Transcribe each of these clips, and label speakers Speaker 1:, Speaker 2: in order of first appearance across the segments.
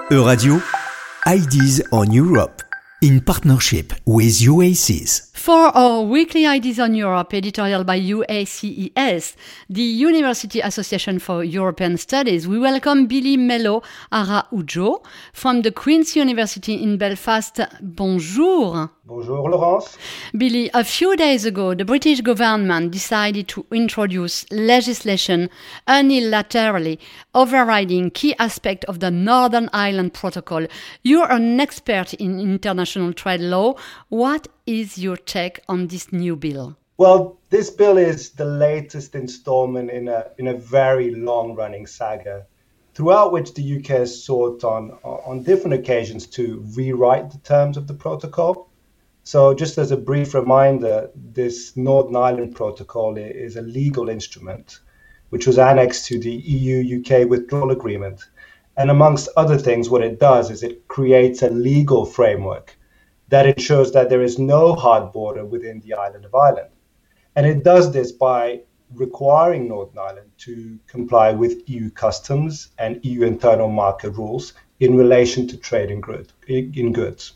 Speaker 1: Euradio, Ideas on Europe, in partnership with UACES.
Speaker 2: For our weekly Ideas on Europe editorial by UACES, the University Association for European Studies, we welcome Billy Melo Araujo from the Queen's University in Belfast. Bonjour.
Speaker 3: Bonjour, Laurence.
Speaker 2: Billy, a few days ago, the British government decided to introduce legislation unilaterally overriding key aspects of the Northern Ireland Protocol. You're an expert in international trade law. What is your take on this new bill?
Speaker 3: Well, this bill is the latest installment in a very long-running saga, throughout which the UK has sought on different occasions to rewrite the terms of the protocol. So just as a brief reminder, this Northern Ireland Protocol is a legal instrument which was annexed to the EU-UK withdrawal agreement. And amongst other things, what it does is it creates a legal framework that ensures that there is no hard border within the island of Ireland. And it does this by requiring Northern Ireland to comply with EU customs and EU internal market rules in relation to trade in goods.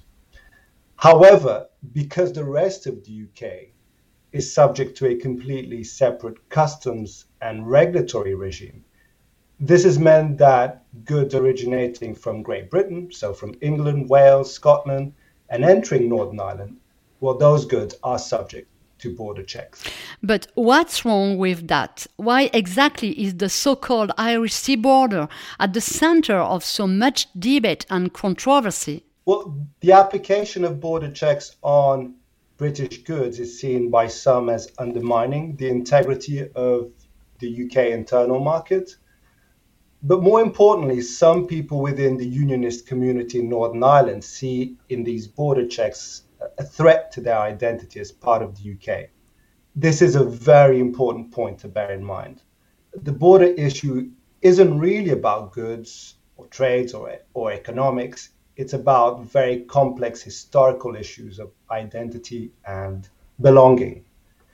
Speaker 3: However, because the rest of the UK is subject to a completely separate customs and regulatory regime, this has meant that goods originating from Great Britain, so from England, Wales, Scotland, and entering Northern Ireland, well, those goods are subject to border checks.
Speaker 2: But what's wrong with that? Why exactly is the so-called Irish Sea border at the center of so much debate and controversy?
Speaker 3: Well, the application of border checks on British goods is seen by some as undermining the integrity of the UK internal market. But more importantly, some people within the unionist community in Northern Ireland see in these border checks a threat to their identity as part of the UK. This is a very important point to bear in mind. The border issue isn't really about goods or trades or economics. It's about very complex historical issues of identity and belonging.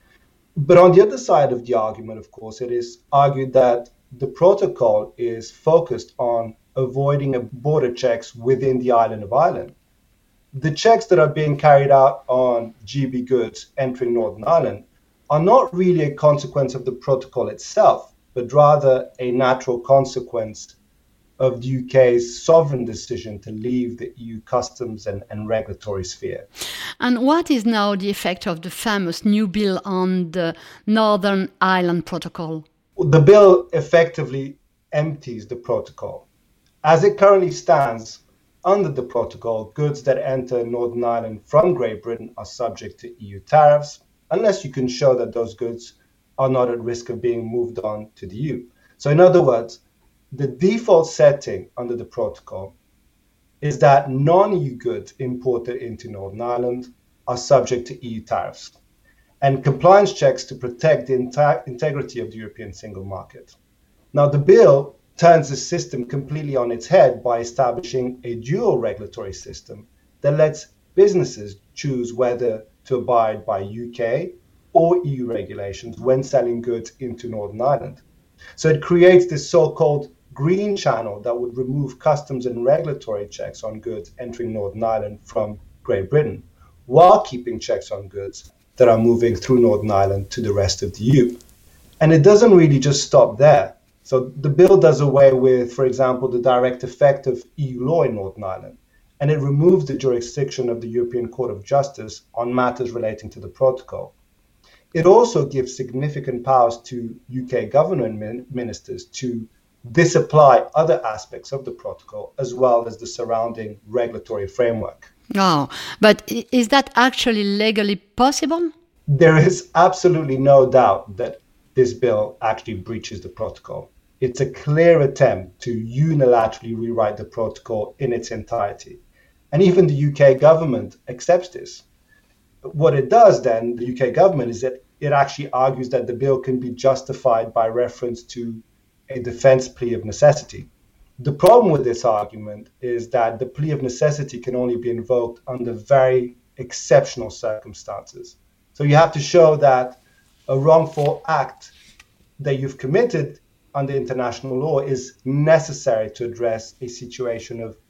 Speaker 3: But on the other side of the argument, of course, it is argued that the protocol is focused on avoiding border checks within the island of Ireland. The checks that are being carried out on GB goods entering Northern Ireland are not really a consequence of the protocol itself, but rather a natural consequence of the UK's sovereign decision to leave the EU customs and regulatory sphere.
Speaker 2: And what is now the effect of the famous new bill on the Northern Ireland Protocol?
Speaker 3: The bill effectively empties the protocol. As it currently stands, under the protocol, goods that enter Northern Ireland from Great Britain are subject to EU tariffs, unless you can show that those goods are not at risk of being moved on to the EU. So in other words, the default setting under the protocol is that non-EU goods imported into Northern Ireland are subject to EU tariffs and compliance checks to protect the integrity of the European single market. Now, the bill turns the system completely on its head by establishing a dual regulatory system that lets businesses choose whether to abide by UK or EU regulations when selling goods into Northern Ireland. So it creates this so-called green channel that would remove customs and regulatory checks on goods entering Northern Ireland from Great Britain, while keeping checks on goods that are moving through Northern Ireland to the rest of the EU. And it doesn't really just stop there. So the bill does away with, for example, the direct effect of EU law in Northern Ireland, and it removes the jurisdiction of the European Court of Justice on matters relating to the protocol. It also gives significant powers to UK government ministers to disapply other aspects of the protocol, as well as the surrounding regulatory framework.
Speaker 2: Oh, but is that actually legally possible?
Speaker 3: There is absolutely no doubt that this bill actually breaches the protocol. It's a clear attempt to unilaterally rewrite the protocol in its entirety. And even the UK government accepts this. What it does then, the UK government, is that it actually argues that the bill can be justified by reference to a defense plea of necessity. The problem with this argument is that the plea of necessity can only be invoked under very exceptional circumstances. So you have to show that a wrongful act that you've committed under international law is necessary to address a situation of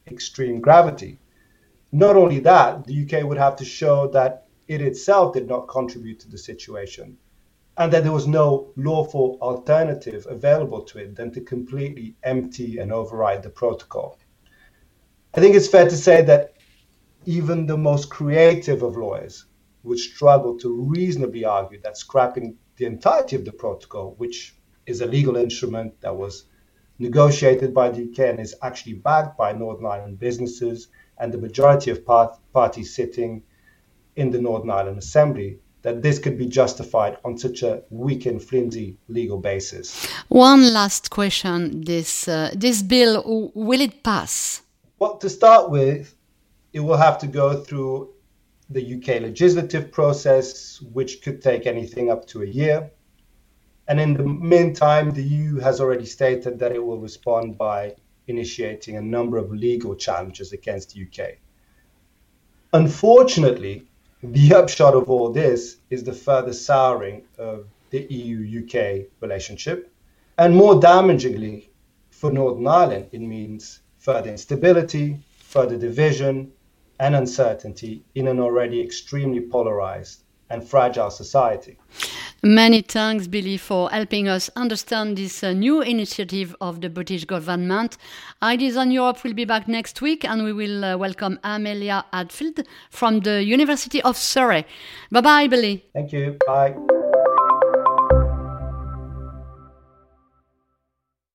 Speaker 3: extreme gravity. Not only that, the UK would have to show that it itself did not contribute to the situation and that there was no lawful alternative available to it than to completely empty and override the protocol. I think it's fair to say that even the most creative of lawyers would struggle to reasonably argue that scrapping the entirety of the protocol, which is a legal instrument that was negotiated by the UK and is actually backed by Northern Ireland businesses and the majority of parties sitting in the Northern Ireland Assembly, that this could be justified on such a weak and flimsy legal basis.
Speaker 2: One last question. This bill, will it pass?
Speaker 3: Well, to start with, it will have to go through the UK legislative process, which could take anything up to a year. And in the meantime, the EU has already stated that it will respond by initiating a number of legal challenges against the UK. Unfortunately, the upshot of all this is the further souring of the EU-UK relationship. And more damagingly, for Northern Ireland, it means further instability, further division, and uncertainty in an already extremely polarized and fragile society.
Speaker 2: Many thanks, Billy, for helping us understand this new initiative of the British government. Ideas on Europe will be back next week, and we will welcome Amelia Hadfield from the University of Surrey. Bye-bye, Billy.
Speaker 3: Thank you. Bye.